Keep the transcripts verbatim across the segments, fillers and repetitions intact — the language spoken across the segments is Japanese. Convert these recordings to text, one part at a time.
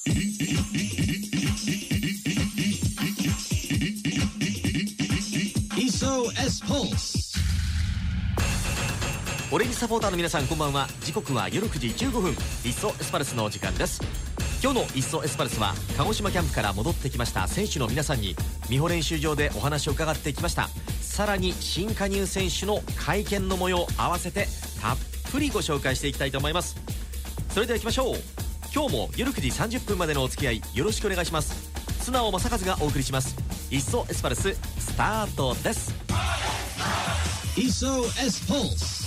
磯 S ポース。 オレンジサポーターの皆さん、こんばんは。時刻は夜くじじゅうごふん、磯エスパルスのお時間です。今日の磯エスパルスは鹿児島キャンプから戻ってきました選手の皆さんに美保練習場でお話を伺ってきました。さらに新加入選手の会見の模様を合わせてたっぷりご紹介していきたいと思います。それでは行きましょう。今日も夜くじさんじゅっぷんまでのお付き合いよろしくお願いします。素直正和がお送りします磯エスパルス、スタートです。 磯 S ポース。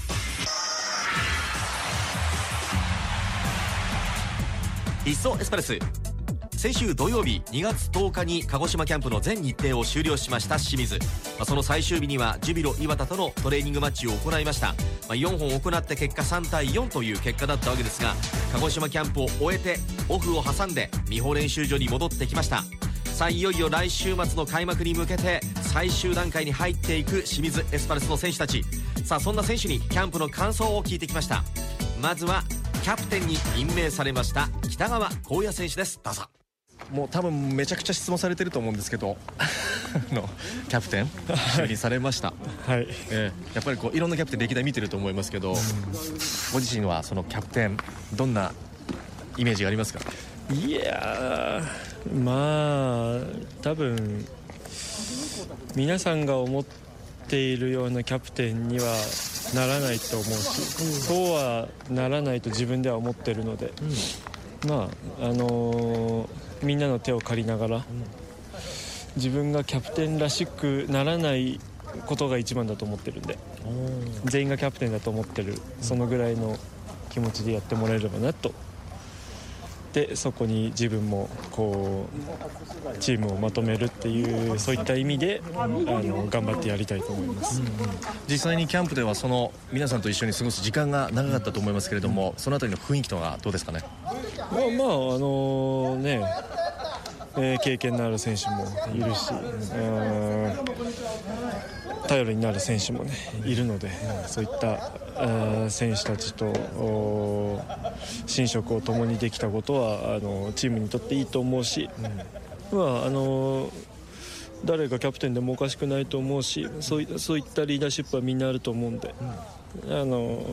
磯エスパルス、先週土曜日にがつとおかに鹿児島キャンプの全日程を終了しました清水、まあ、その最終日にはジュビロ磐田とのトレーニングマッチを行いました。まあ、よんほん行って結果さんたいよんという結果だったわけですが、鹿児島キャンプを終えてオフを挟んで美保練習場に戻ってきました。さあいよいよ来週末の開幕に向けて最終段階に入っていく清水エスパルスの選手たち。さあそんな選手にキャンプの感想を聞いてきました。まずはキャプテンに任命されました北川幸也選手です。どうぞ。 もう多分めちゃくちゃ質問されてると思うんですけどのキャプテン就任されましたはい、えー、やっぱりこういろんなキャプテン歴代見てると思いますけど、ご自身はそのキャプテンどんなイメージがありますか？ いやー、まあ多分皆さんが思っているようなキャプテンにはならないと思うし、そうはならないと自分では思ってるので、うん、まああのー、みんなの手を借りながら、うん、自分がキャプテンらしくならないことが一番だと思ってるんで、全員がキャプテンだと思ってる、そのぐらいの気持ちでやってもらえればなと。でそこに自分もこうチームをまとめるっていうそういった意味であの頑張ってやりたいと思います、うんうん、 実際にキャンプではその皆さんと一緒に過ごす時間が長かったと思いますけれども、うん、そのあたりの雰囲気とはどうですかね？ まあまああのね、えー、経験のある選手もいるし、うん頼りになる選手も、ね、いるので、そういった選手たちと寝食を共にできたことはあのチームにとっていいと思うし、うんまあ、あの誰がキャプテンでもおかしくないと思うし、そうい、そういったリーダーシップはみんなあると思うんで、うん、あの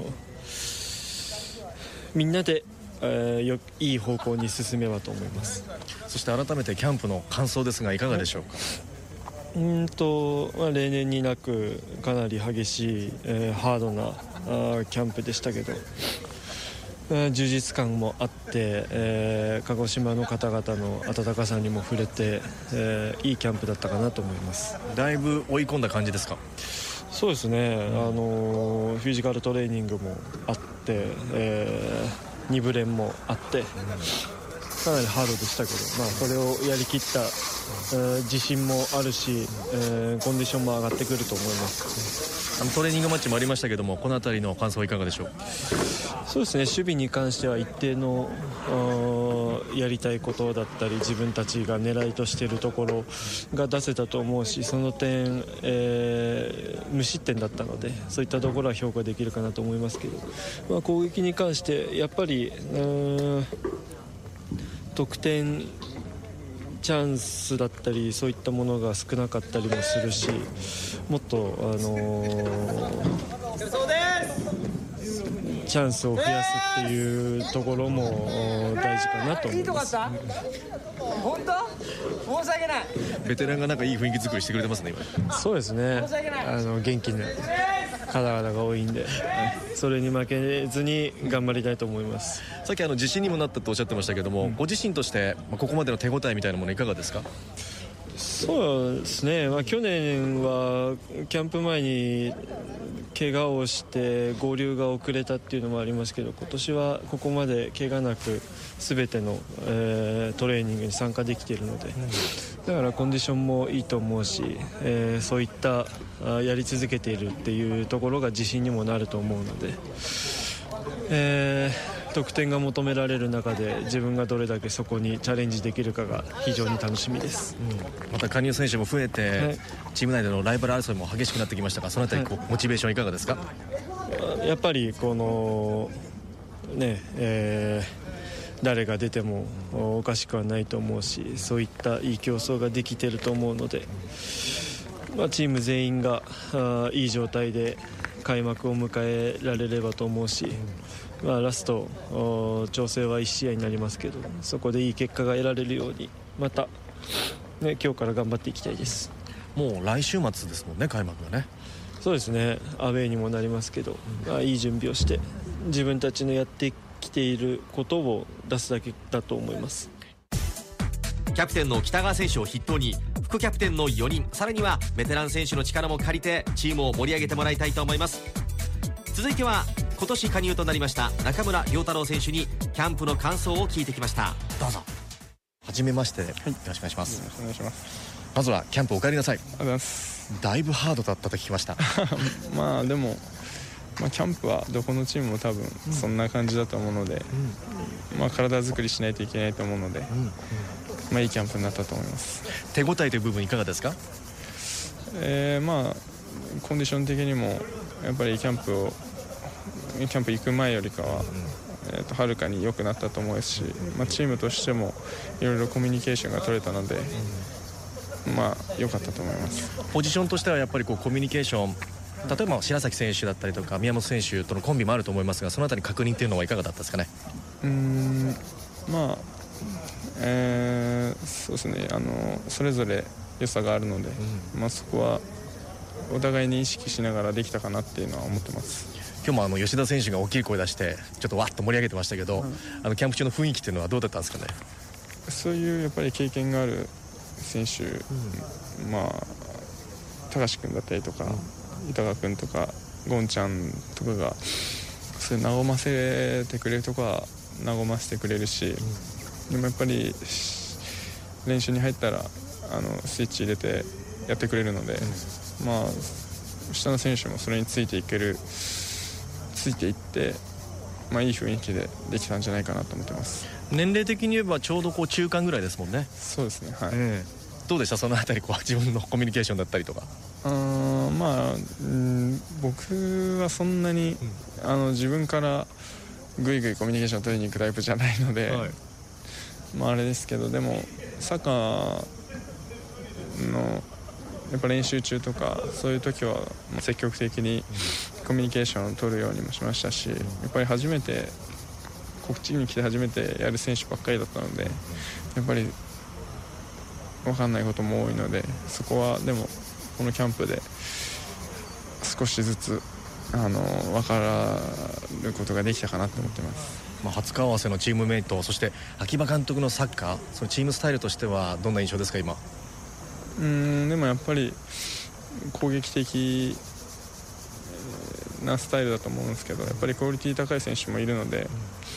みんなで、えー、よいい方向に進めばと思います。 そして改めてキャンプの感想ですがいかがでしょうか？ うんとまあ、例年になくかなり激しい、えー、ハードなあキャンプでしたけど、えー、充実感もあって、えー、鹿児島の方々の温かさにも触れて、えー、いいキャンプだったかなと思います。 だいぶ追い込んだ感じですか？ そうですね、うん、あのフィジカルトレーニングもあって、えー、に部練もあって、うんかなりハードでしたけど、まあ、それをやりきった、えー、自信もあるし、えー、コンディションも上がってくると思います。 あのトレーニングマッチもありましたけども、この辺りの感想はいかがでしょう？ そうですね、守備に関しては一定のやりたいことだったり自分たちが狙いとしているところが出せたと思うし、その点、えー、無失点だったのでそういったところは評価できるかなと思いますけど、まあ、攻撃に関してやっぱりうーん得点チャンスだったりそういったものが少なかったりもするし、もっと、あのー、チャンスを増やすっていうところも大事かなと思います。 本当？申し訳ない。 ベテランがなんかいい雰囲気作りしてくれてますね今。 そうですね、あの元気な方々が多いんで、それに負けずに頑張りたいと思います。 さっきあの自信にもなったとおっしゃってましたけども、うん、ご自身としてここまでの手応えみたいなものいかがですか？ そうですね、まあ、去年はキャンプ前に怪我をして合流が遅れたっていうのもありますけど、今年はここまで怪我なく全ての、えー、トレーニングに参加できているので、だからコンディションもいいと思うし、えー、そういったやり続けているっていうところが自信にもなると思うので、えー、得点が求められる中で自分がどれだけそこにチャレンジできるかが非常に楽しみです、 うん、また加入選手も増えて、はい、チーム内でのライバル争いも激しくなってきましたが、そのあたりこう、はい、モチベーションいかがですか？ やっぱりこのねえー誰が出てもおかしくはないと思うし、そういったいい競争ができていると思うので、まあ、チーム全員があいい状態で開幕を迎えられればと思うし、まあ、ラスト調整はいち試合になりますけど、そこでいい結果が得られるようにまた、ね、今日から頑張っていきたいです。 もう来週末ですもんね、開幕がね。 そうですね、アウェーにもなりますけど、まあ、いい準備をして自分たちのやってきていることを出すだけだと思います。 キャプテンの北川選手を筆頭に副キャプテンのよにん、さらにはベテラン選手の力も借りてチームを盛り上げてもらいたいと思います。続いては今年加入となりました中村亮太郎選手にキャンプの感想を聞いてきました。どうぞ。 はじめまして、はい、よろしくお願いします。よろしくお願いします。まずはキャンプお帰りなさい。ありがとうございます。だいぶハードだったと聞きました。 まあでも、まあ、キャンプはどこのチームも多分そんな感じだと思うので、うん、まあ、体作りしないといけないと思うので、うんうん、まあ、いいキャンプになったと思います。 手応えという部分いかがですか？ えー、まあコンディション的にもやっぱりキャンプをキャンプ行く前よりかは、うん、えー、とはるかに良くなったと思うし、まあ、チームとしてもいろいろコミュニケーションが取れたので、うん、まあ良かったと思います。 ポジションとしてはやっぱりこうコミュニケーション、例えば白崎選手だったりとか宮本選手とのコンビもあると思いますが、そのあたり確認というのはいかがだったですかね？ うーん、まあ、えー、そうですね、あのそれぞれ良さがあるので、うん、まあ、そこはお互いに意識しながらできたかなっていうのは思ってます。 今日もあの吉田選手が大きい声出してちょっとわっと盛り上げてましたけど、うん、あのキャンプ中の雰囲気っていうのはどうだったんですかね？ そういうやっぱり経験がある選手、うん、まあ高橋君だったりとか、うん、板川君とかゴンちゃんとかがそれ和ませてくれるとこは和ませてくれるし、うん、でもやっぱり練習に入ったらあのスイッチ入れてやってくれるので、うん、まあ下の選手もそれについていけるついていって、まあ、いい雰囲気でできたんじゃないかなと思ってます。 年齢的に言えばちょうどこう中間ぐらいですもんね。 そうですね、はい、 えー、どうでしたそのあたりこう自分のコミュニケーションだったりとか？ あまあ、うん、僕はそんなに、うん、あの自分からぐいぐいコミュニケーションを取りに行くタイプじゃないので、はい、まああれですけど、でもサッカーのやっぱ練習中とかそういう時は積極的にコミュニケーションを取るようにもしましたし、やっぱり初めてこっちに来て初めてやる選手ばっかりだったので、やっぱり分かんないことも多いので、そこはでもこのキャンプで少しずつあの分かることができたかなと思ってます。 まあ、初顔合わせのチームメイト、そして秋葉監督のサッカー、そのチームスタイルとしてはどんな印象ですか今？ うーんでもやっぱり攻撃的なスタイルだと思うんですけど、やっぱりクオリティ高い選手もいるので、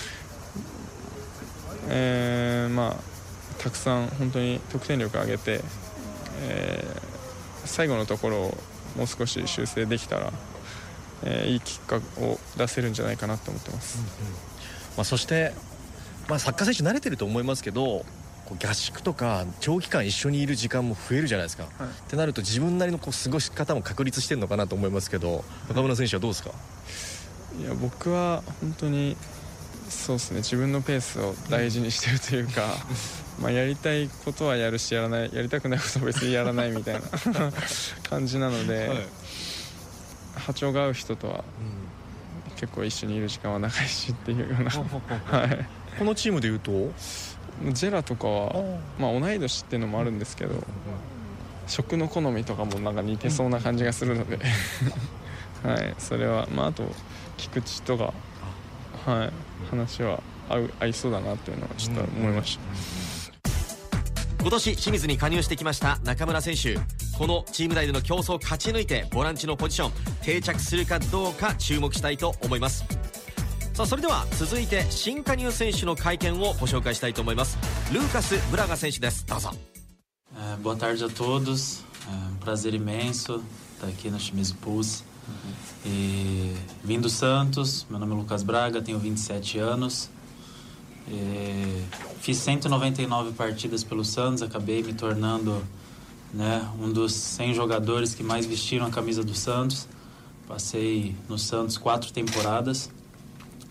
えー、まあたくさん本当に得点力を上げて、えー、最後のところをもう少し修正できたら、えー、いい結果を出せるんじゃないかなと思ってます。うんうん、 まあ、そして、まあ、サッカー選手慣れてると思いますけど、こう合宿とか長期間一緒にいる時間も増えるじゃないですか、はい、ってなると自分なりのこう過ごし方も確立してるのかなと思いますけど、中村選手はどうですか？ いや僕は本当にそうですね、自分のペースを大事にしてるというかまあやりたいことはやるし、やらないやりたくないことは別にやらないみたいな感じなので、はい、波長が合う人とは結構一緒にいる時間は長いしっていうようなはい、 このチームでいうとジェラとかは、まあ、同い年っていうのもあるんですけど、食の好みとかもなんか似てそうな感じがするのではい、それは、まあ、あと菊池とか、はい、話は合う合いそうだなっていうのはちょっと思いました。 今年清水に加入してきました中村選手、このチーム内での競争を勝ち抜いてボランチのポジション定着するかどうか注目したいと思います。さあそれでは続いて新加入選手の会見をご紹介したいと思います。ルーカス・ブラガ選手です。どうぞ。 É, boa tarde a todos, é um prazer imenso estar aqui no Shimizu Pulse. E, vim do Santos, meu nome é Lucas Braga, tenho vinte e sete anos. E, fiz cento e noventa e nove partidas pelo Santos, acabei me tornando, né, um dos cem jogadores que mais vestiram a camisa do Santos. Passei no Santos quatro temporadas.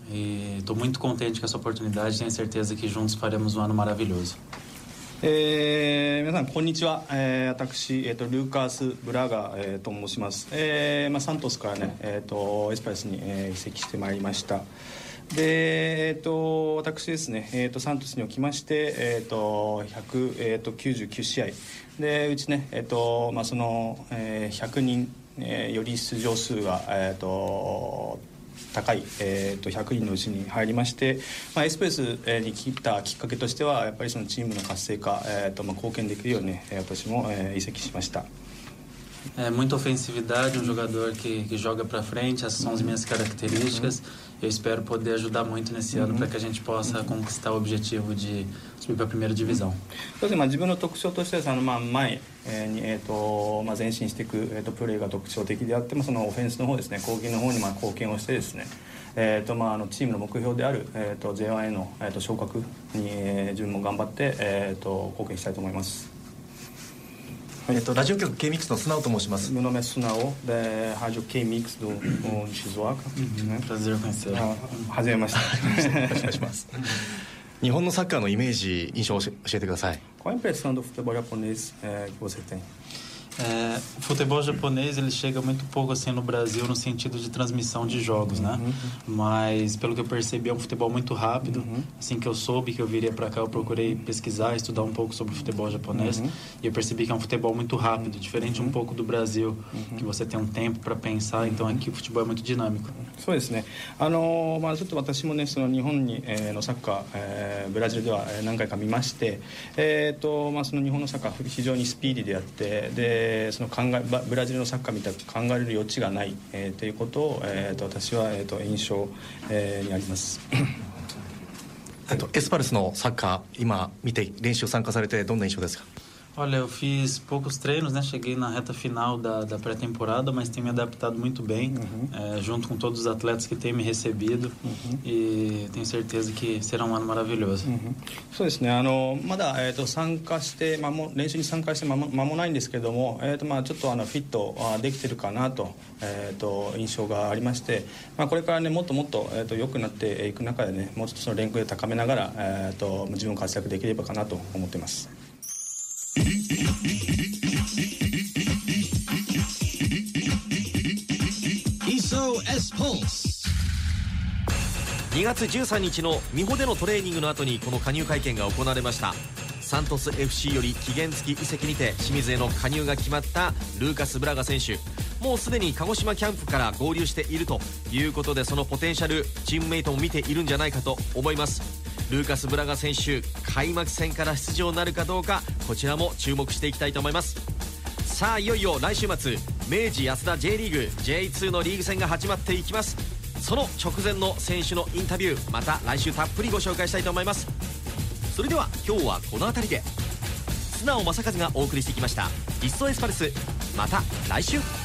E estou muito contente com essa oportunidade. Tenho certeza que juntos faremos um ano maravilhoso. えー、皆さんこんにちは、えー、私、えー、とルーカス・ブラガー、えー、と申します、えーまあ、サントスからね、えー、とエスパルスに、えー、移籍してまいりました。で、えー、と私ですね、えー、とサントスにおきまして、えー、とひゃくきゅうじゅうきゅう試合でうちね、えーとまあ、その、えー、ひゃくにん、えー、より出場数が、えー、と高い、えー、とひゃくにんのうちに入りまして、まあ、エスペースに来たきっかけとしてはやっぱりそのチームの活性化、えーとまあ、貢献できるように、ね、私も、えー、移籍しました。 É muita ofensividade, um jogador que, que joga para frente, essas são as minhas características. Eu espero poder ajudar muito nesse ano para que a gente possa conquistar o objetivo de subir para a primeira divisão. そうですね、まあ、自分の特徴としてはあの、まあ、前に、えーとまあ、前進していく、えー、とプレーが特徴的であってもそのオフェンスの方ですね、攻撃の方にまあ貢献をしてですね、えーとまあ、あのチームの目標である、えー、と ジェイワン への、えー、と昇格に、えー、自分も頑張って、えー、と貢献したいと思います。 えっと、ラジオ局 K-ミックス の素直と申します。 Meu nome é Sunao, da rádio K-Mix do, do Shizuoka. Prazer conhecer. はじめまして。 よろしくお願いします。日本のサッカーのイメージ、印象を教えてください。 Qual a impressão do futebol japonês é, que você tem? É, o futebol japonês ele chega muito pouco assim no Brasil no sentido de transmissão de jogos, né? Uhum. Mas pelo que eu percebi é um futebol muito rápido. Uhum. Assim que eu soube que eu viria para cá, eu procurei pesquisar, estudar um pouco sobre o futebol japonês. Uhum. E eu percebi que é um futebol muito rápido, diferente um pouco do Brasil, uhum. que você tem um tempo para pensar. Então aqui o futebol é muito dinâmico. そうですね。あのまあちょっと私もねその日本に、えー、のサッカー、えー、ブラジルでは何回か見まして、えーとまあその日本のサッカー非常にスピーディーであってでその考えブラジルのサッカーみたいに考えれる余地がない、えー、ということを、えー、と私は、えー、と印象、えー、にあります。 えっとエスパルスのサッカー今見て練習参加されてどんな印象ですか？ Olha, eu fiz poucos treinos, né? Cheguei na reta final da, da pré-temporada, mas tenho me adaptado muito bem, uhum. é, junto com todos os atletas que têm me recebido, uhum. e tenho certeza que será um ano maravilhoso. Uhum. そうですね。あのまだ、えー、と参加して間も練習に参加して間も間もないんですけども、えーとまあ、ちょっとあのフィットできてるかなと、えー、と印象がありまして、まあ、これからねもっともっと、えー、と良くなっていく中でねもうちょっとその連携を高めながら、えー、と自分を活躍できればかなと思っています。 にがつじゅうさんにちの美穂でのトレーニングの後にこの加入会見が行われました。サントス エフシー より期限付き移籍にて清水への加入が決まったルーカス・ブラガ選手、もうすでに鹿児島キャンプから合流しているということでそのポテンシャルチームメイトも見ているんじゃないかと思います。ルーカス・ブラガ選手開幕戦から出場なるかどうかこちらも注目していきたいと思います。さあいよいよ来週末明治安田 J リーグ ジェイツー のリーグ戦が始まっていきます。その直前の選手のインタビューまた来週たっぷりご紹介したいと思います。それでは今日はこの辺りで素直正和がお送りしてきました。いっそエスパルス、また来週。